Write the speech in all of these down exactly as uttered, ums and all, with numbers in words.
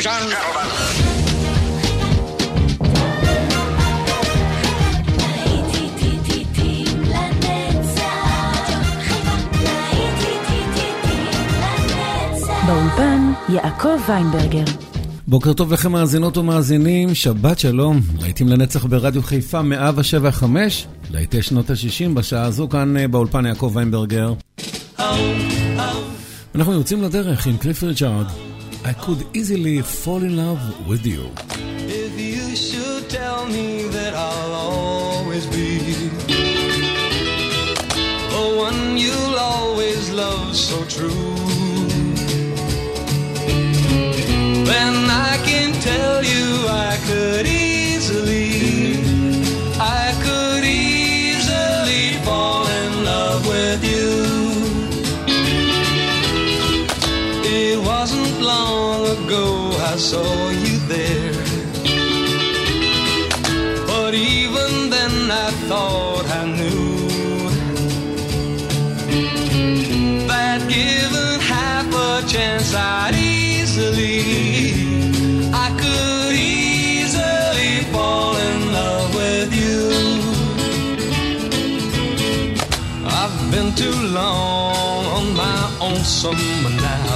ladies and gentlemen. באולפן יעקב ויינברגר. בוקר טוב לכם מאזינות ומאזינים, שבת שלום, להיטים לנצח ברדיו חיפה מאה שבע וחמש, להיטי שנות ה-שישים בשעה הזו כאן באולפן יעקב ויינברגר. אנחנו יוצאים לדרך עם קליף ריצ'ארד. I could easily fall in love with you. If you should tell me that I'll always be the one you'll always love so true, then I can tell you I could easily, I could easily fall in love with you. It wasn't long ago I saw you there, but even then I thought I knew that given half a chance I'd easily, I could easily fall in love with you. I've been too long on my own summer now,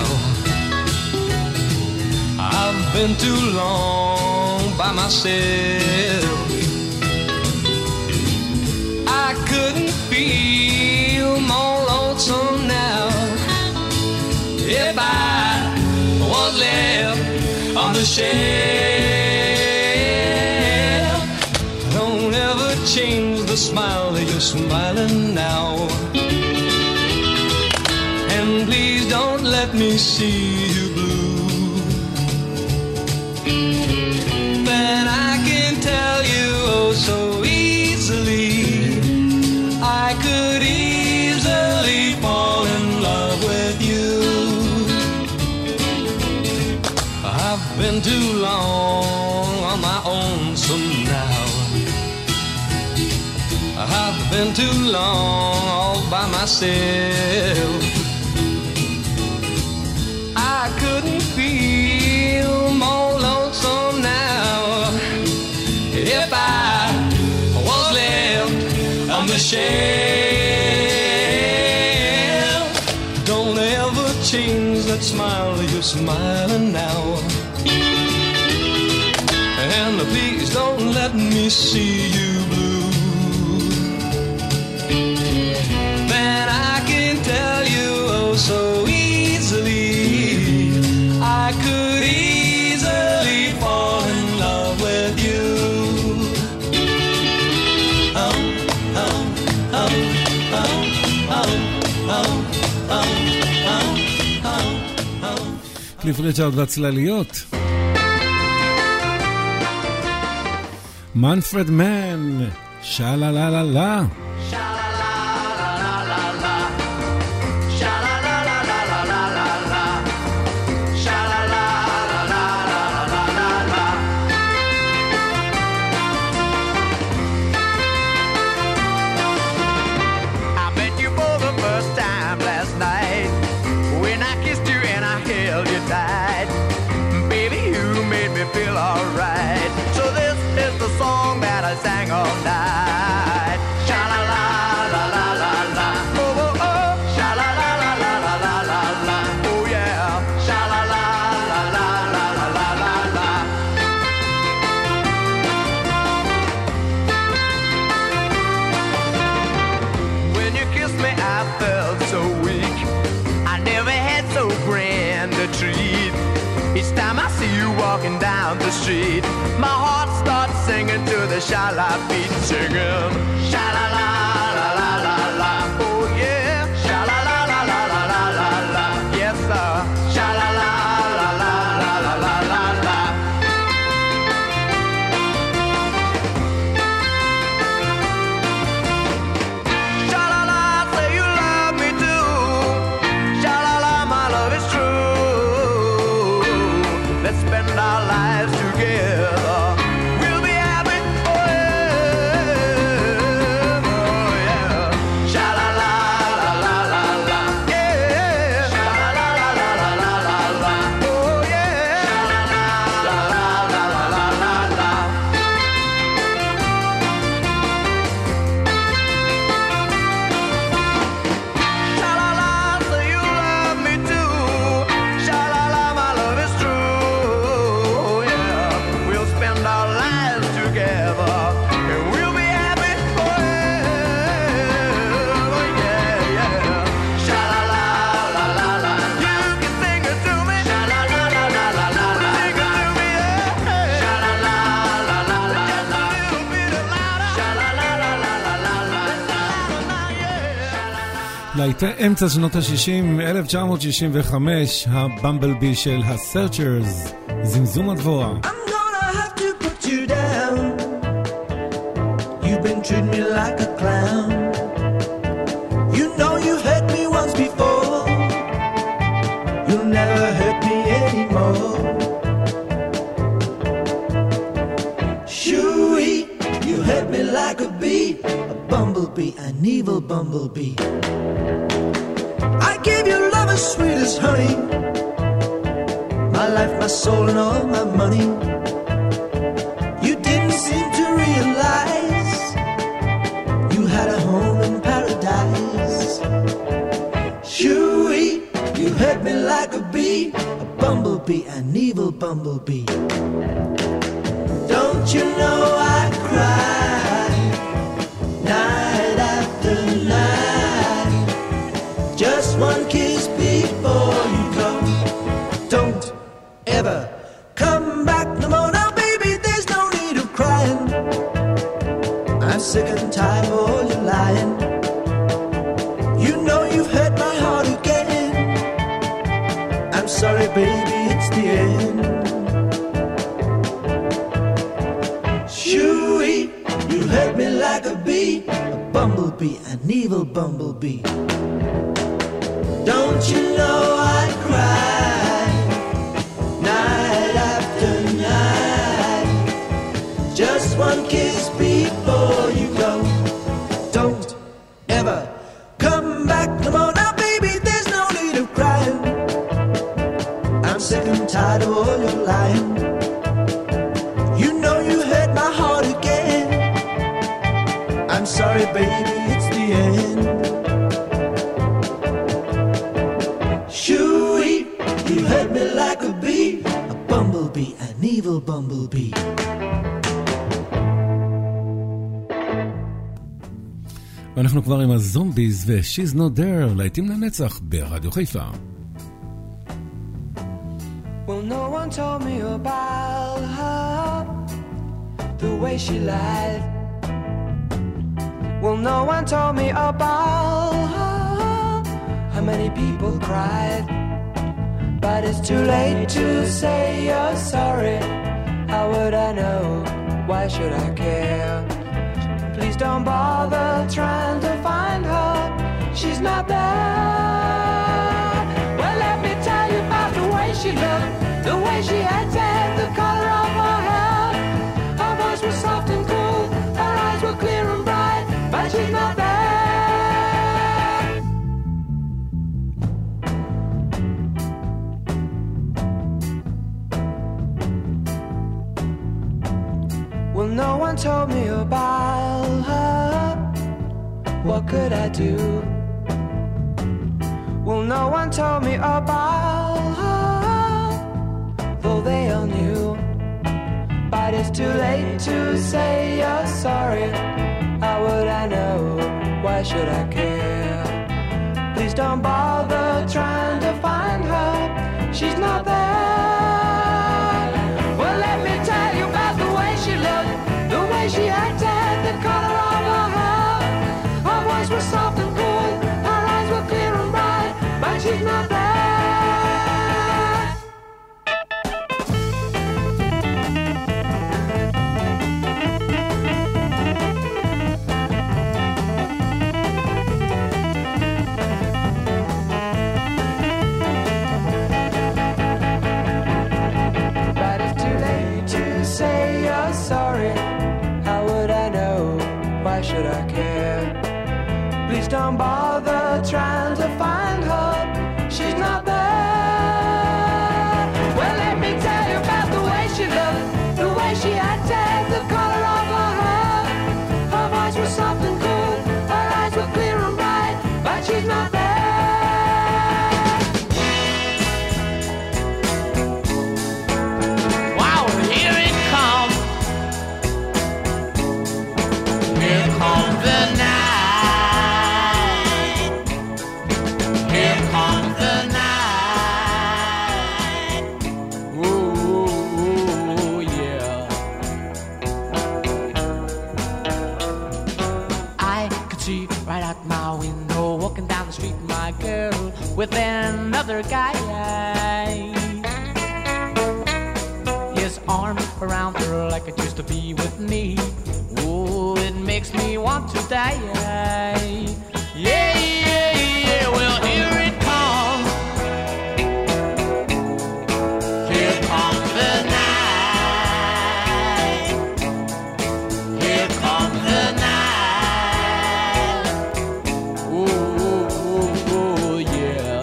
I've been too long by myself. I couldn't feel more lonesome now if I was left on the shelf. Don't ever change the smile that you're smiling now, and please don't let me see you blue. Then I can tell you oh so easily, I could easily fall in love with you. I've been too long on my own some now, I've been too long all by myself. I couldn't feel more lonesome now if I was left on the shelf. Don't ever change that smile you're smiling now, and please don't let me see you blue. Then I can tell you oh so easily, I could easily fall in love with you. Oh, oh, oh, oh, oh, oh, oh, oh, oh, oh. קליף ריצ'ארד והצלליות. מנפרד מן, שאלה לה לה לה. Feel alright. So this is the song that I sang all night. Sha la la la la la la. Oh oh oh. Sha la la la la la la la la. Oh yeah. Sha la la la la la la la la la. When you kissed me, I felt so weak. I never had so grand a treat. Each time I see you walking down the street, my heart starts singing to the sha-la beat, singing sha-la-la, la-la-la, la. Oh yeah, sha-la-la, la-la-la, la-la, la. Yes sir, sha-la-la, la-la, la-la, la-la, la. Sha-la-la, say you love me too. Sha-la-la, my love is true. Let's spend our lives together. We'll be happy forever. Oh yeah. Sha la la la la la la. Yeah. Sha la la la la la la la. Oh yeah. Sha la la להיטי אמצע שנות ה-שישים, אלף תשע מאות שישים וחמש, הבמבלבי של הסרצ'רס, זמזום הדבורה. I'm gonna have to put you down. You've been treating me like a clown. You know you've hurt me once before. You'll never hurt me anymore. Shoo-wee, you hurt me like a bee, a bumblebee, an evil bumblebee. I gave you love as sweet as honey, my life, my soul, and all my money. You didn't seem to realize you had a home in paradise. Shoo-wee, you hurt me like a bee, a bumblebee, an evil bumblebee. Don't you know I cry night after night? Just one kiss before you go. Don't ever come back no more. Now baby, there's no need of crying. I'm sick and tired of all your lying. You know you've hurt my heart again. I'm sorry baby, it's the end. Shoo-wee, you hurt me like a bee, a bumblebee, an evil bumblebee. Don't you know I cry night after night? Just one kiss before you go. Don't ever come back no more. Now baby, there's no need of crying. I'm sick and tired of all your lying. You know you hurt my heart again. I'm sorry baby, it's the end. Shoo-wee, you hurt me like a bee, a bumblebee, an evil bumblebee. ואנחנו כבר עם הזומביז ו-She's Not There, להיטים לנצח ברדיו חיפה. Well, no one told me about her, the way she lied. Well, no one told me about her, how many people cried. But it's too late to say you're sorry. How would I know? Why should I care? Please don't bother trying to find her. She's not there. Well, let me tell you about the way she looked, the way she acted, the color of her hair. Her voice was soft and cool, her eyes were clear and bright, but she's not there. Well, no one told me about her. What could I do? Well, no one told me about her, though they all knew. But it's too late to say you're sorry. How would I know? Why should I care? Please don't bother trying to find her. She's not there. Well, let me tell you about the way she looked, the way she acted, the color of her hair. Her voice was soft and cool, her eyes were clear and bright, but she's not there. But it's too late to say you're sorry. How would I know? Why should I care? Please don't bother trying to find her. She's not there. Well, let me tell you about the way she looked, the way she acted, the color of her hair. Her voice was soft and cool, her eyes were clear and bright, but she's not there. Wow, here it comes. Here comes the night. arms around her like it used to be with me. Oh, it makes me want to die. Yeah, yeah, yeah, well, here it comes. Here comes the night. Here comes the night. Oh, oh, oh, yeah.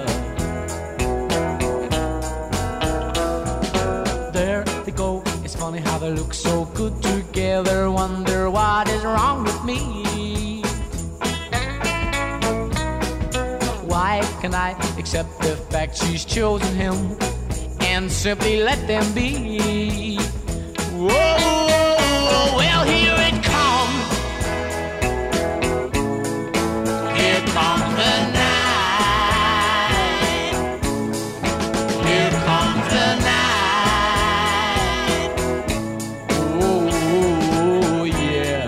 There they go. It's funny how they look so good together. Wonder what is wrong with me. Why can I accept the fact she's chosen him and simply let them be? Whoa, well, here it comes. Here comes the night. Here comes the night. Oh, yeah.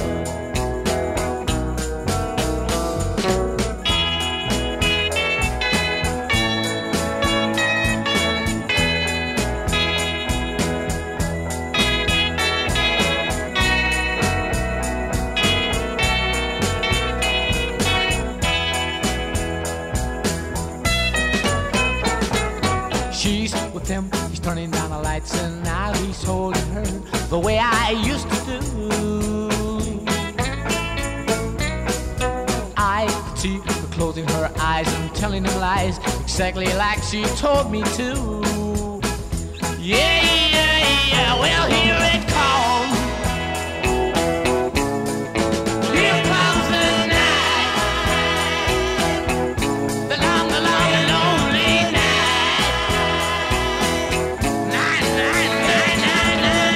She's with him, he's turning down the lights, and now he's holding her the way I used to do. I could see her closing her eyes and telling him lies, exactly like she told me to. Yeah, yeah, yeah, well, here it comes. Here comes the night. The long, the long, and lonely night. Night, night, night, night, night,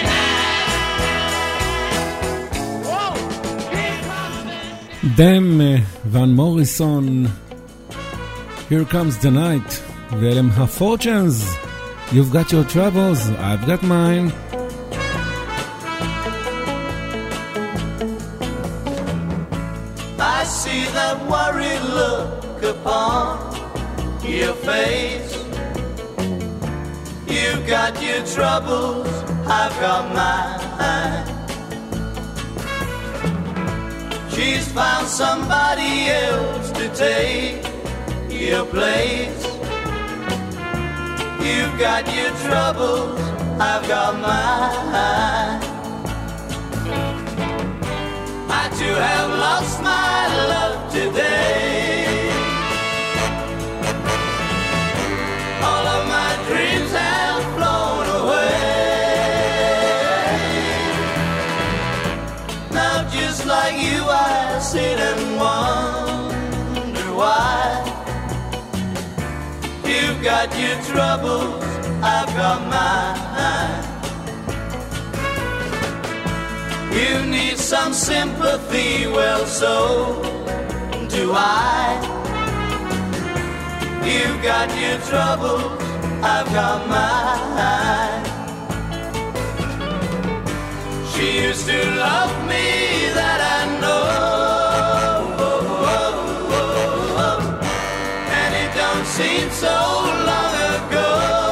night. Whoa, here comes the דם, ון מוריסון, Here comes the night, ואלה הם ה-Fortunes, You've got your troubles, I've got mine. I see that worried look upon your face. You've got your troubles, I've got mine. She's found somebody else to take your place. You've got your troubles, I've got mine. I too have lost my love today. All of my dreams have flown away. Now just like you I sit and wonder why. You've got your troubles, I've got mine. You need some sympathy, well, so do I. You've got your troubles, I've got mine. She used to love me, that I know. And it don't seem so long ago.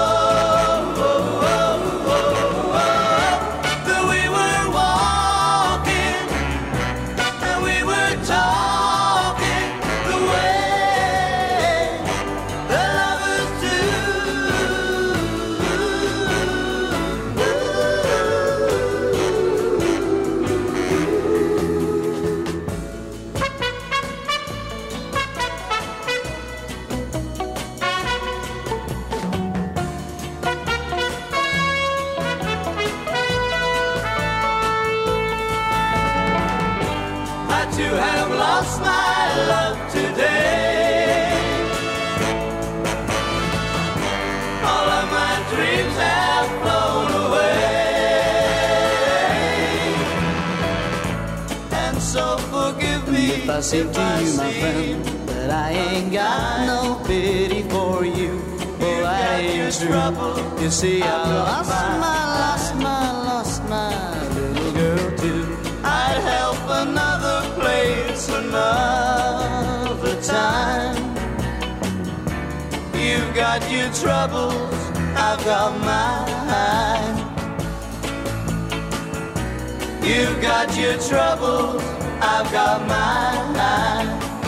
If I say to you, my friend, that I ain't got no pity for you, oh, I ain't true. You see, I lost my, lost my, lost my little girl too. I'd help another place another time. You've got your troubles, I've got mine. You've got your trouble, I've got mine.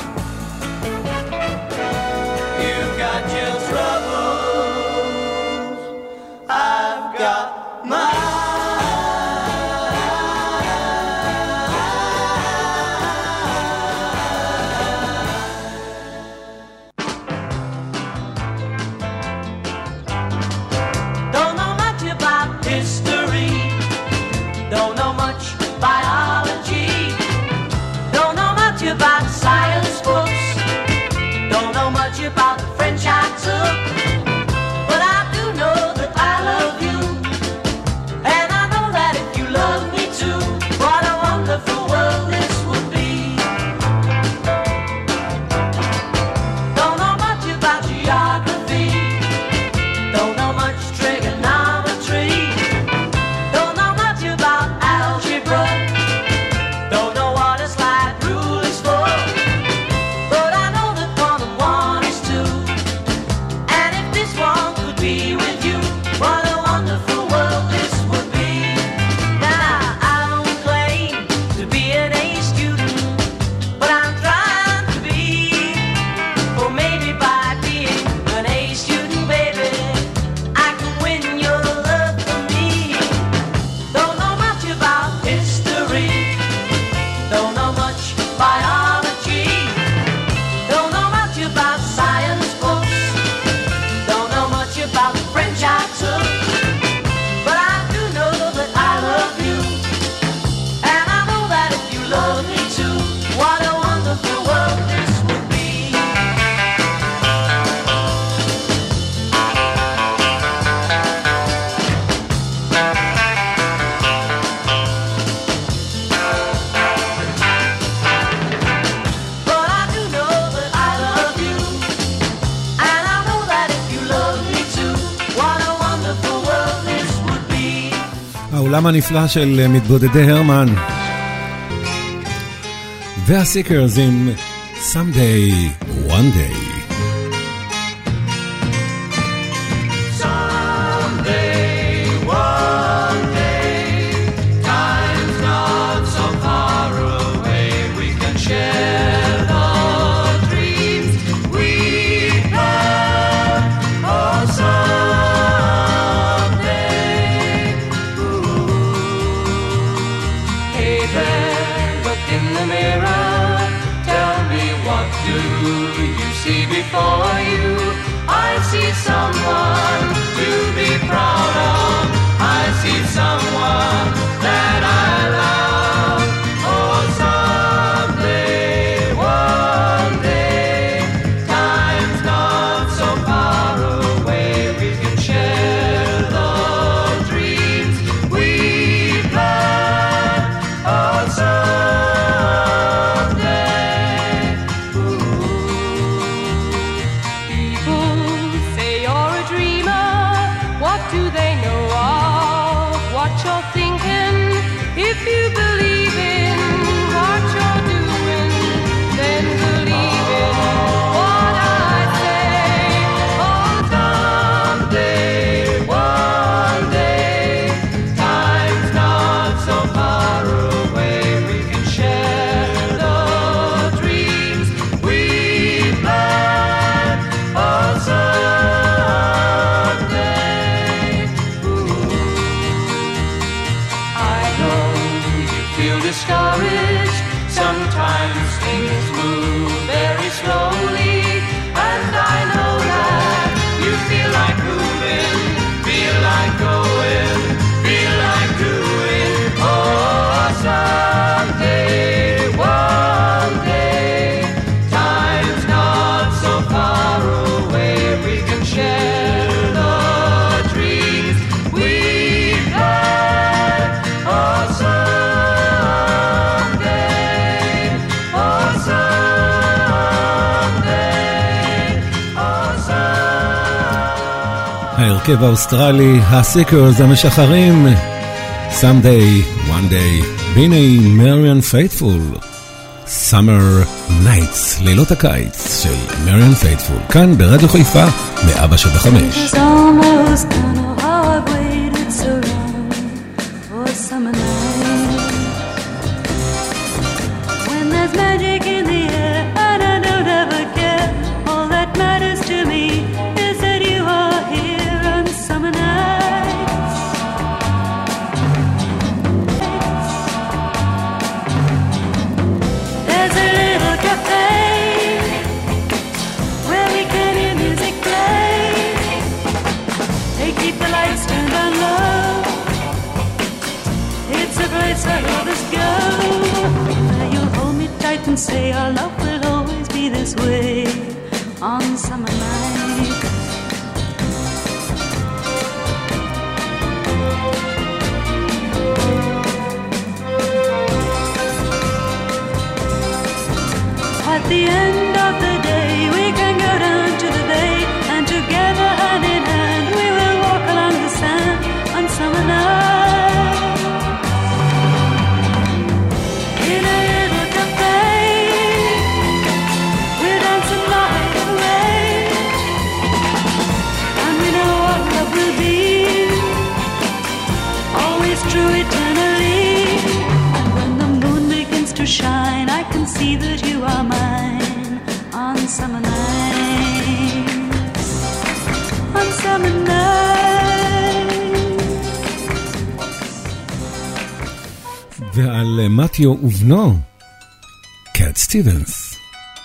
You've got your troubles, I've got mine. Don't know much about history, don't know much biology, don't know much about science books, don't know much about the French I took, but I do know that I love you, and I know that if you love me too, what a wonderful world this would be. Don't know much about geography, don't know much trigonometry, don't know much about algebra, don't know what a slide rule is for, but I know that one and one is two, and if this one could be with you, what a wonderful world this would be. Now I don't claim to be an A student, but I'm trying to be, or maybe by being an A student, baby, I can win your love for me. Don't know much about history, don't know much biology, don't know much about science books, don't know much about the French I took, but I do know that I love you, and I know that if you love me too, what a wonderful world this would be. But I do know that I love you, and I know that if you love me too, what a wonderful world this would be. העולם הנפלא של מתבודדי הרמן. והסיקרס עם Someday, One Day. Someday, one day, time's not so far away, we can share the dreams we had. Oh, someday, ooh. Hey there, look in the mirror, tell me what do you see before you? I see someone to be proud of, I see someone that I love. Oh, someday, one day, time's not so far away, we can share the dreams we've had. Oh, someday, People say you're a dreamer. What do they know of what you're thinking? If you believe in what you're doing, then believe in what I say. Oh, someday, one day, time's not so far away, we can share the dreams we've had. Oh, someday, ooh. I know you feel discouraged, sometimes things move very slowly, and I know that you feel like moving, feel like going, feel like doing. Oh, someday, one day, time's not so far away, we can share the dreams we've had. Oh, someday, oh, someday, oh, someday. ההרכב האוסטרלי, הסיקרס המשחרים, Someday, One Day, והנה מריאן פייטפול, Summer Nights, לילות הקיץ של מריאן פייטפול, כאן ברדיו חיפה, מאה שבע חמש. It's almost kind of how I've waited so long for a summer night. and say our love will always be this way on summer nights. At the end of the day, we can go down to the bay, and together hand in hand, we will walk along the sand on summer night. In a little cafe, we'll dance the night away, and we know what love will be, always true eternally. And when the moon begins to shine, I can see that you are mine on summer nights, on summer nights. ועל מתיו ובנו, קאט סטיבנס.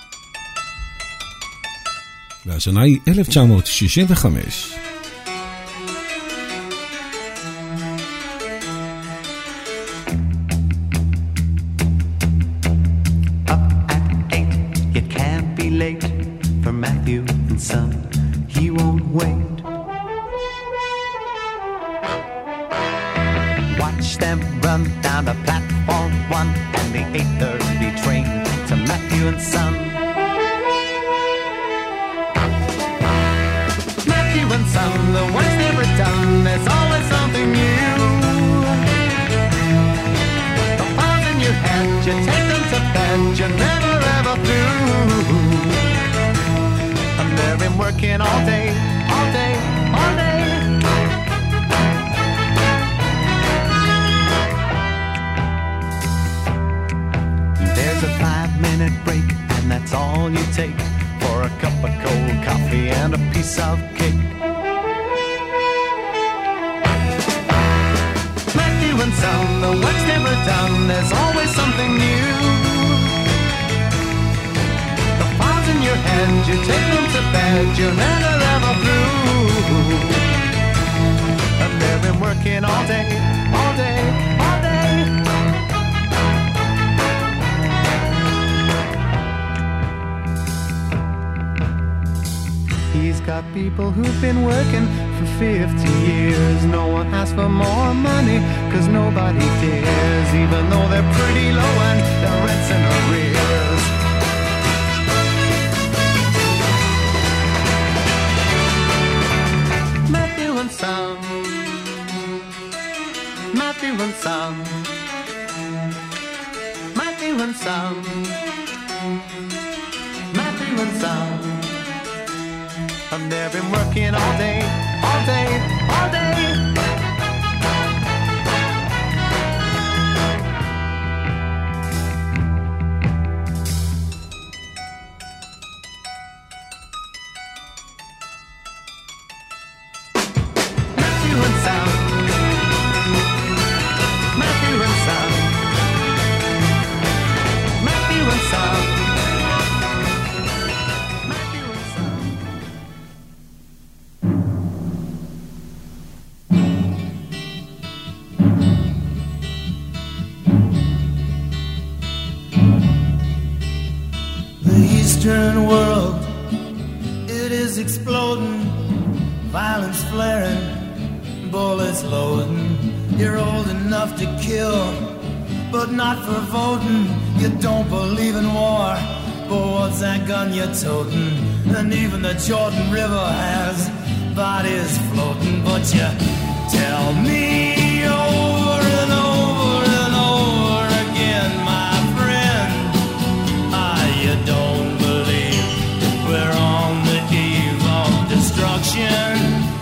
והשנה היא אלף תשע מאות שישים וחמש. People who've been working for fifty years. No one asks for more money, cause nobody dares, even though they're pretty low and their rent's in arrears. Matthew and Son, Matthew and Son, Matthew and Son, Matthew and Son. And they've been working all day, all day, all day. Matthew and Son, Matthew and Son, Matthew and Son. Eastern world, it is exploding, violence flaring, bullets loading. You're old enough to kill, but not for voting. You don't believe in war, but what's that gun you're toting? And even the Jordan River has bodies floating. But you tell me over and over and over again, my friend, ah, you don't we're on the eve of destruction.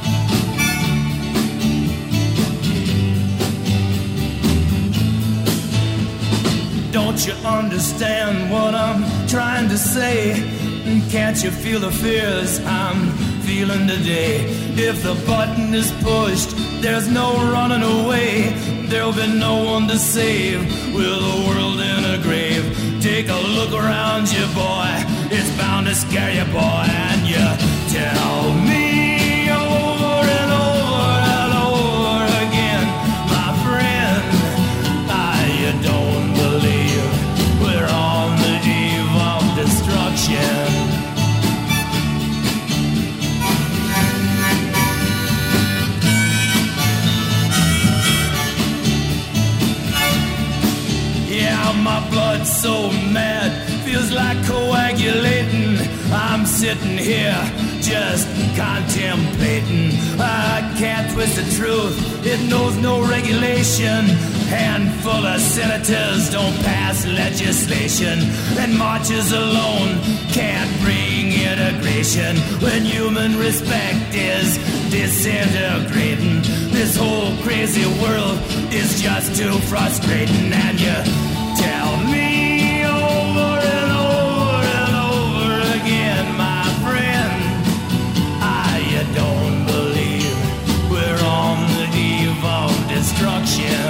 Don't you understand what I'm trying to say? Can't you feel the fears I'm feeling today? If the button is pushed, there's no running away. There'll be no one to save with the world in a grave. Take a look around you, boy. It's bound to scare you, boy. And you tell me over and over and over again, my friend, ah, you don't believe we're on the eve so mad, feels like coagulating. I'm sitting here just contemplating. I can't twist the truth, it knows no regulation. Handful of senators don't pass legislation, and marches alone can't bring integration. When human respect is disintegrating, this whole crazy world is just too frustrating. And you tell me over and over and over again, my friend, I you don't believe we're on the eve of destruction.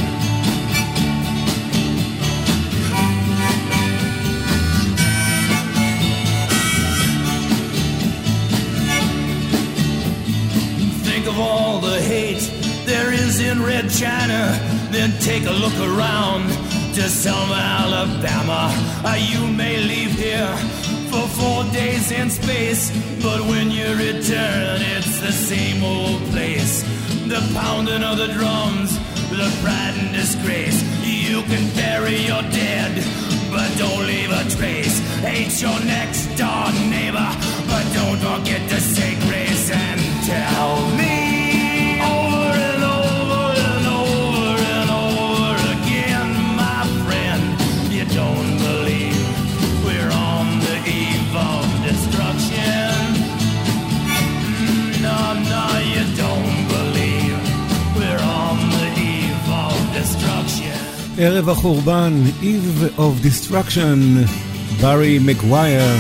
Think of all the hate there is in Red China, then take a look around to Selma, Alabama. Uh, you may leave here for four days in space, but when you return, it's the same old place. The pounding of the drums, the pride and disgrace. You can bury your dead, but don't leave a trace. Hate your next door neighbor, but don't forget to say grace. And tell me over and over and over and over again, my friend, you don't believe we're on the eve of destruction. No, no, you don't believe we're on the eve of destruction. ערב החורבן, Eve of Destruction, ברי מגווייר.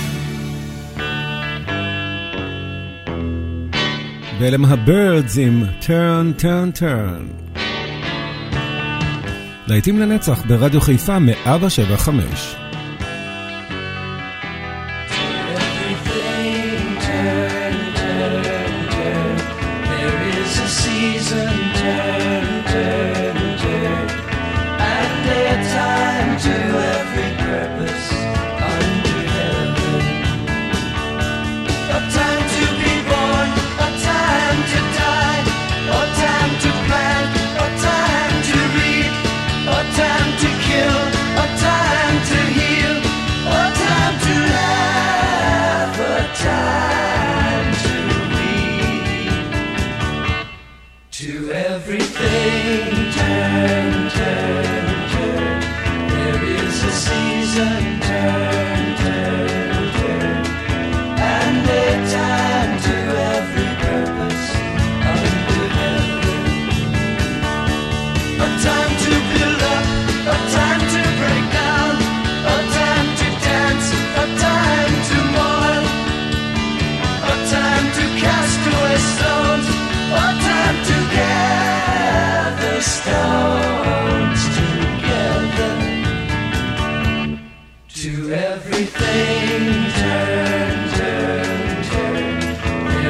ואלה מהבירדס עם Turn, Turn, Turn. להיטים לנצח ברדיו חיפה מאה שבע חמש.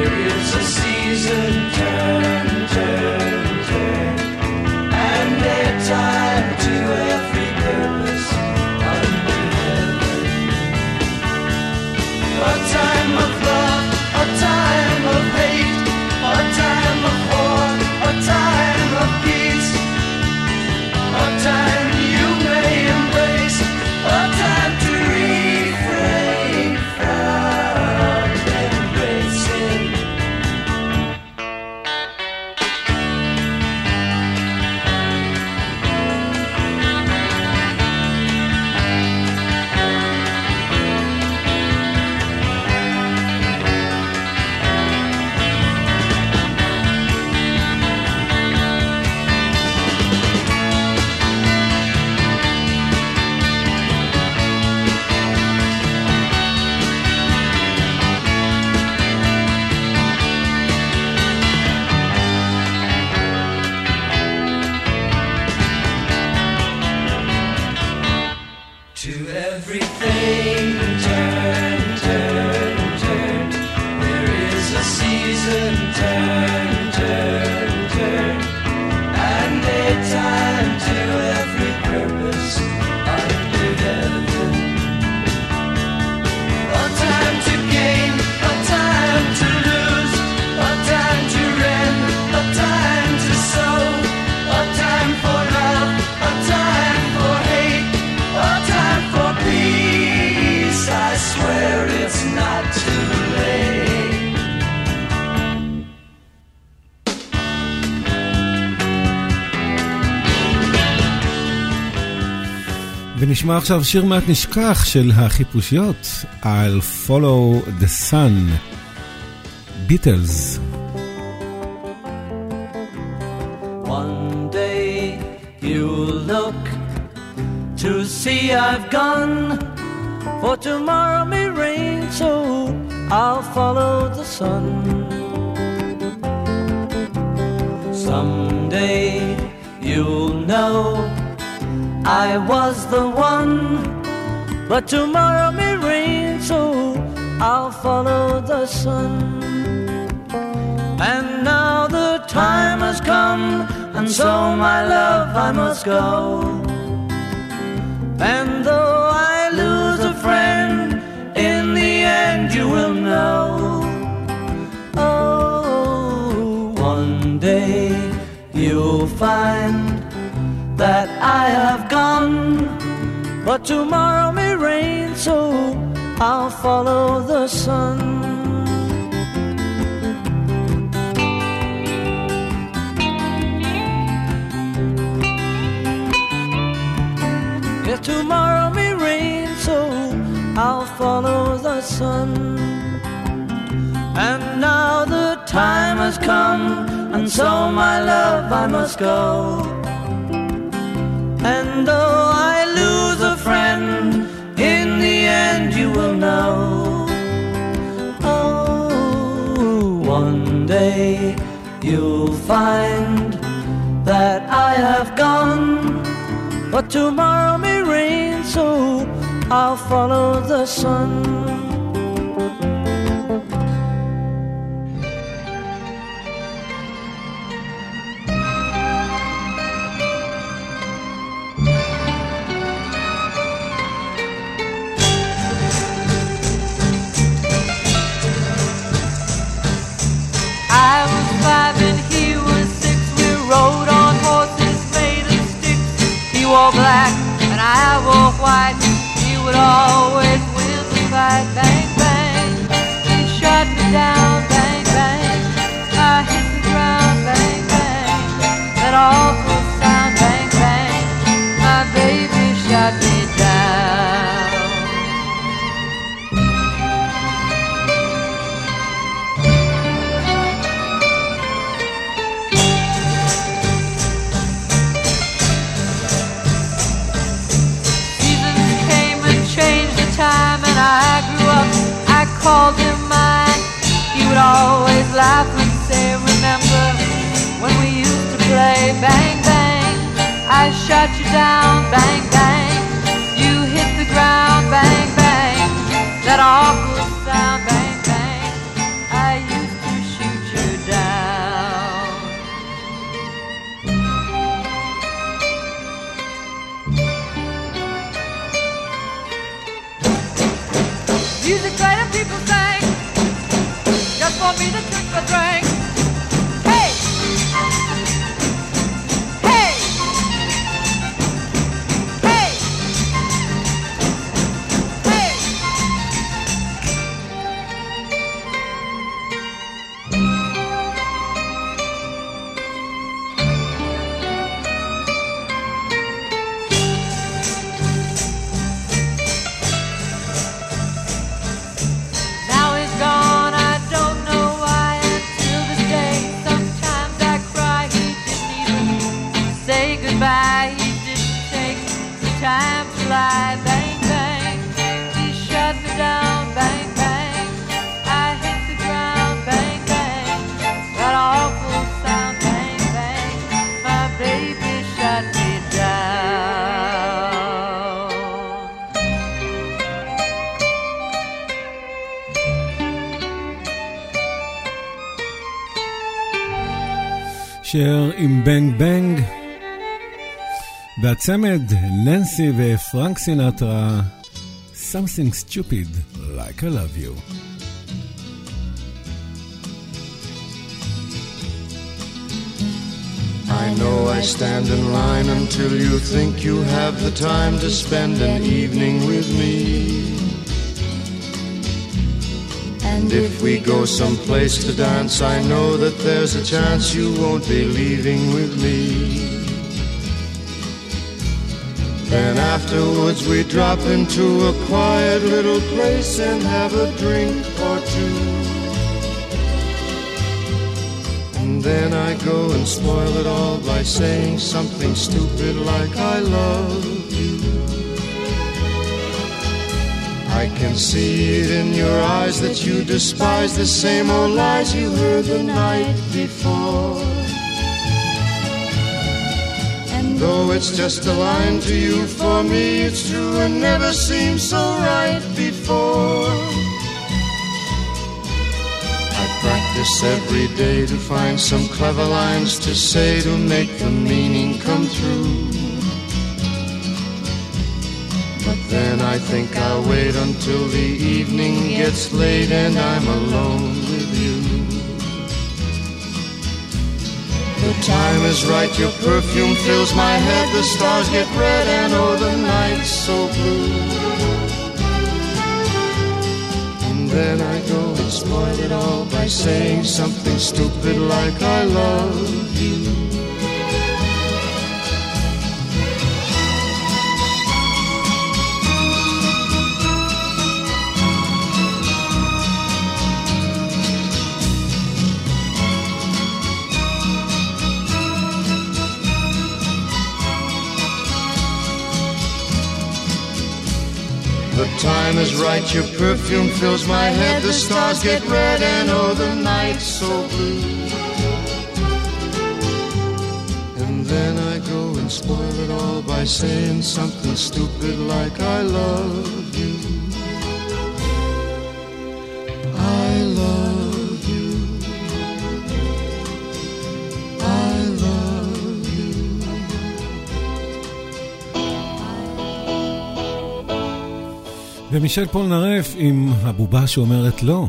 season turn, turn, turn, and ונשמע עכשיו שיר מעט נשכח של החיפושיות, I'll follow the sun, ביטלס. One day you'll look to see I've gone, for tomorrow may rain, so I'll follow the sun. Someday you'll know I was the one, but tomorrow may rain, so I'll follow the sun. And now the time has come, and so my love I must go. And though I lose a friend, in the end you will know. Oh, one day you'll find that I have gone, but tomorrow may rain, so I'll follow the sun. Yes, tomorrow may rain, so I'll follow the sun. And now the time has come, and so my love I must go. And though I lose a friend, in the end you will know. Oh, one day you'll find that I have gone, but tomorrow may rain, so I'll follow the sun. Wore black and I wore white, he would always win the fight. Bang, bang, he shot me down. Bang, bang, I hit the ground. Bang, bang, that awful sound. Bang, bang, my baby shot me down. Time and I grew up, I called him mine. He would always laugh and say, remember when we used to play? Bang, bang, I shot you down. Bang, bang, you hit the ground. Bang, bang, that awful sound. Bang, bang, I used to shoot you down. Music greater people sing, just for me to drink a drink. Hey, hey, hey, hey. He didn't take the time to lie. Bang, bang, he shut me down. Bang, bang, I hit the ground. Bang, bang, that awful sound. Bang, bang, my baby shut me down. שר עם בנג בנג והצמד ננסי ופרנק סינטרה, Something Stupid Like I Love You. I know I stand in line until you think you have the time to spend an evening with me. And if we go someplace to dance, I know that there's a chance you won't be leaving with me. Then afterwards we drop into a quiet little place and have a drink or two. And then I go and spoil it all by saying something stupid like I love you. I can see it in your eyes that you despise the same old lies you heard the night before. And though it's just a line to you, for me it's true and never seemed so right before. I practice every day to find some clever lines to say to make the meaning come through. But then I think I'll wait until the evening gets late and I'm alone with you. The time is right, your perfume fills my head, the stars get red and oh the night's so blue. And then I go and spoil it all by saying something stupid like I love you. The time is right, your perfume fills my head, the stars get red and oh the night's so blue. And then I go and spoil it all by saying something stupid like I love you. I love you. I love you. ומישל פולנרף עם הבובה שאומרת לא.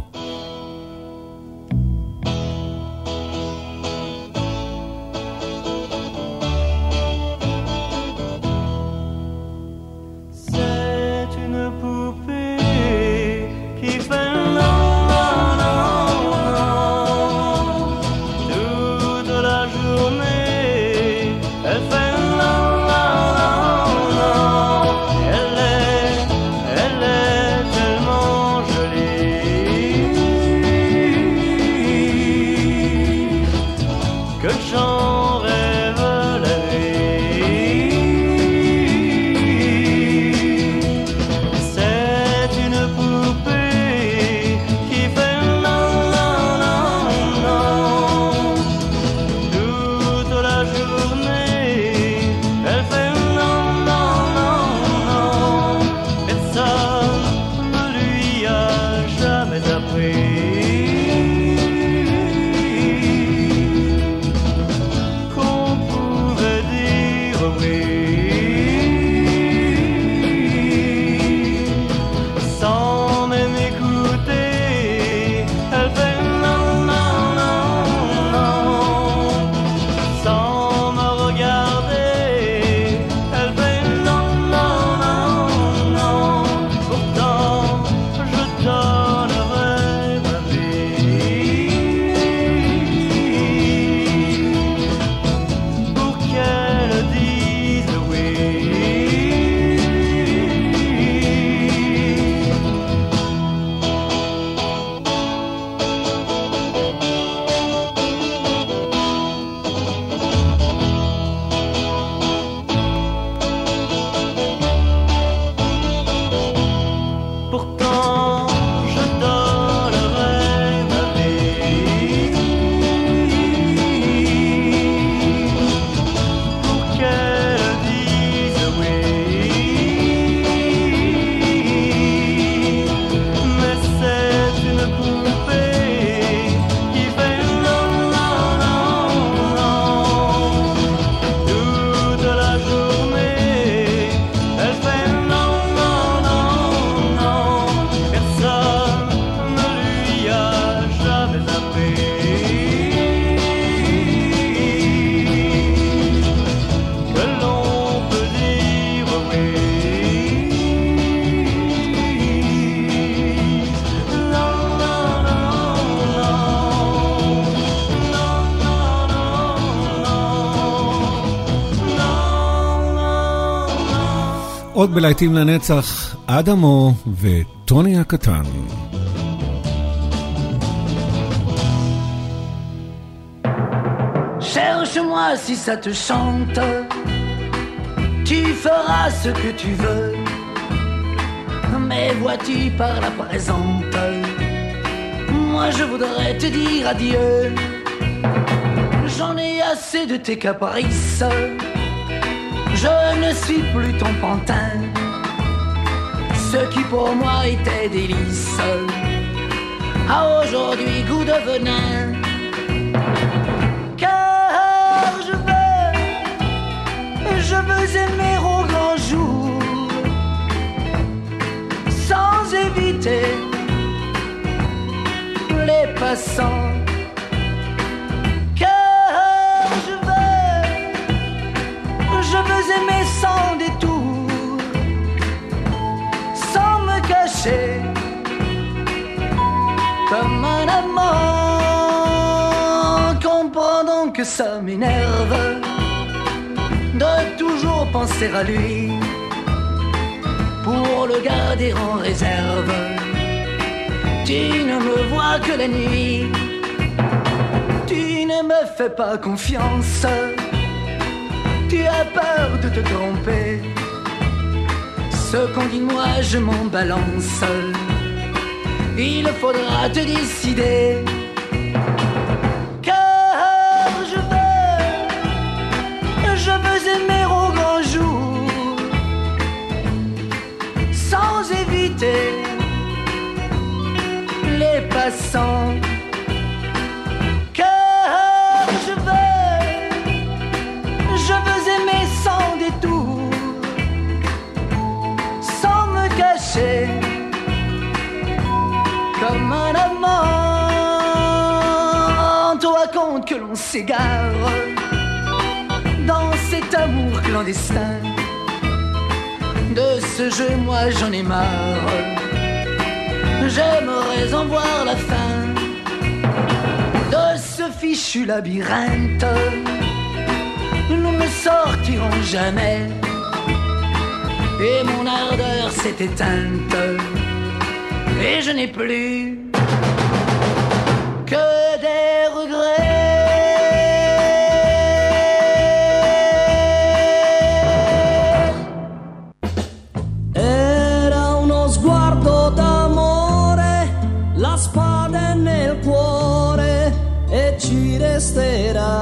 עוד בלהיטים לנצח, אדמו וטוני הקטן. Cherche-moi si ça te chante, tu feras ce que tu veux. Mais vois-tu par la présente, moi je voudrais te dire adieu. J'en ai assez de tes caprices, je ne suis plus ton pantin. Ce qui pour moi était délice a aujourd'hui goût de venin. Car je veux, je veux aimer au grand jour, sans éviter les passants. Car je veux, je veux aimer sans détour, sans me cacher, comme un amant. Comprends donc que ça m'énerve de toujours penser à lui, pour le garder en réserve. Tu ne me vois que la nuit, tu ne me fais pas confiance, tu as peur de te tromper. Ce qu'on dit de moi je m'en balance, il faudra te décider. Car je veux, je veux aimer au grand jour, sans éviter les passants. Car je veux, je veux aimer sans détour, sans me cacher, comme un amant. Toi compte que l'on s'égare dans cet amour clandestin. De ce jeu moi j'en ai marre, j'aimerais en voir la fin de ce fichu labyrinthe. Nous ne sortirons jamais et mon ardeur s'est éteinte et je n'ai plus que des regrets. Era uno sguardo d'amore, la spada è nel cuore e ci resterà.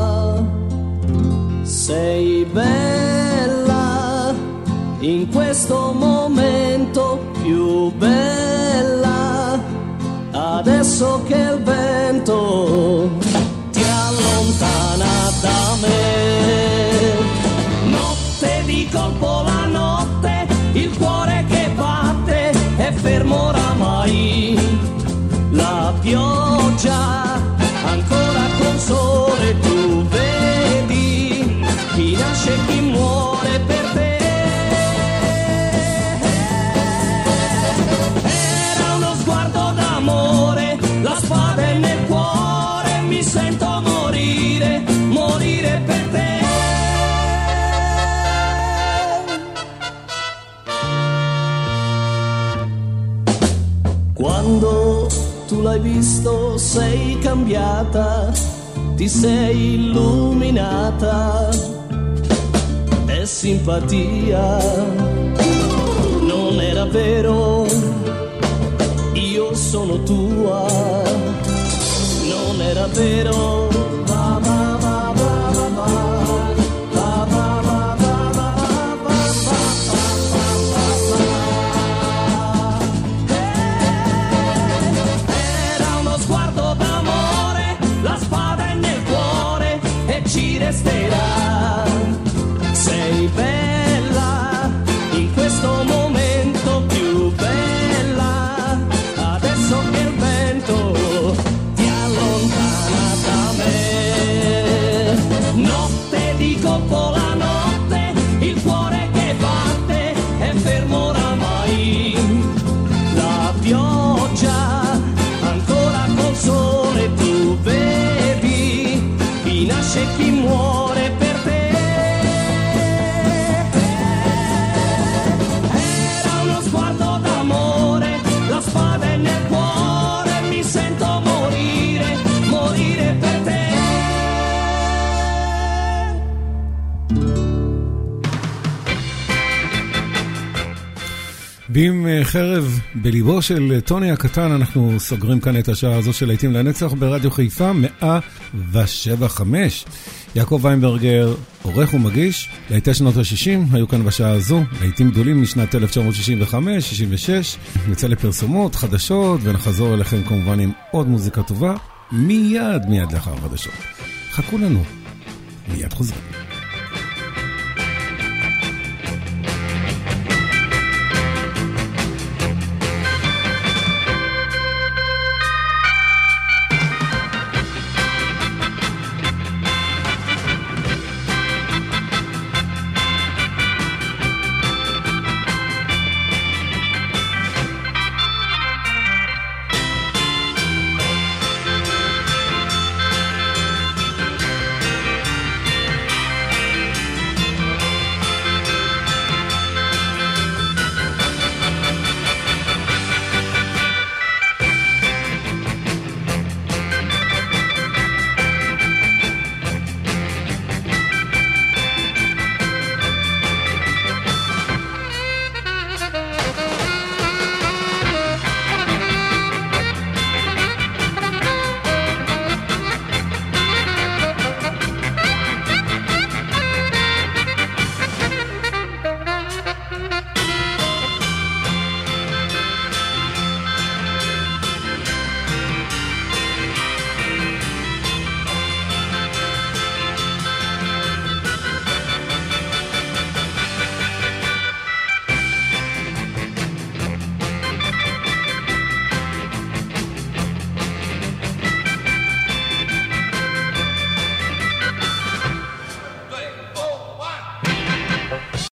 Sei bella in questo momento, più bella adesso che il vento ti allontana da me. Notte di colpo la notte, il cuore che batte è fermo oramai. La pioggia ancora col sole, tu vedi chi nasce e chi muore per te. Era uno sguardo d'amore, la spada è nel cuore, mi sento morire, morire per te. Quando tu l'hai visto sei cambiata, ti sei illuminata, è simpatia, non era vero, io sono tua, non era vero. Va, va, va, va, va, va. Ci resterà, sei bella in questo momento, più bella adesso che il vento ti allontana da me. ועם חרב בליבו של טוני הקטן, אנחנו סוגרים כאן את השעה הזו של להיטים לנצח ברדיו חיפה מאה ושבע חמש. יעקב ויינברגר, עורך ומגיש. להיטי שנות ה-שישים היו כאן בשעה הזו, להיטים גדולים משנת אלף תשע מאות שישים וחמש שישים ושש. נצא לפרסומות, חדשות, ונחזור אליכם כמובן עם עוד מוזיקה טובה מיד מיד לאחר חדשות. חכו לנו, מיד חוזרים.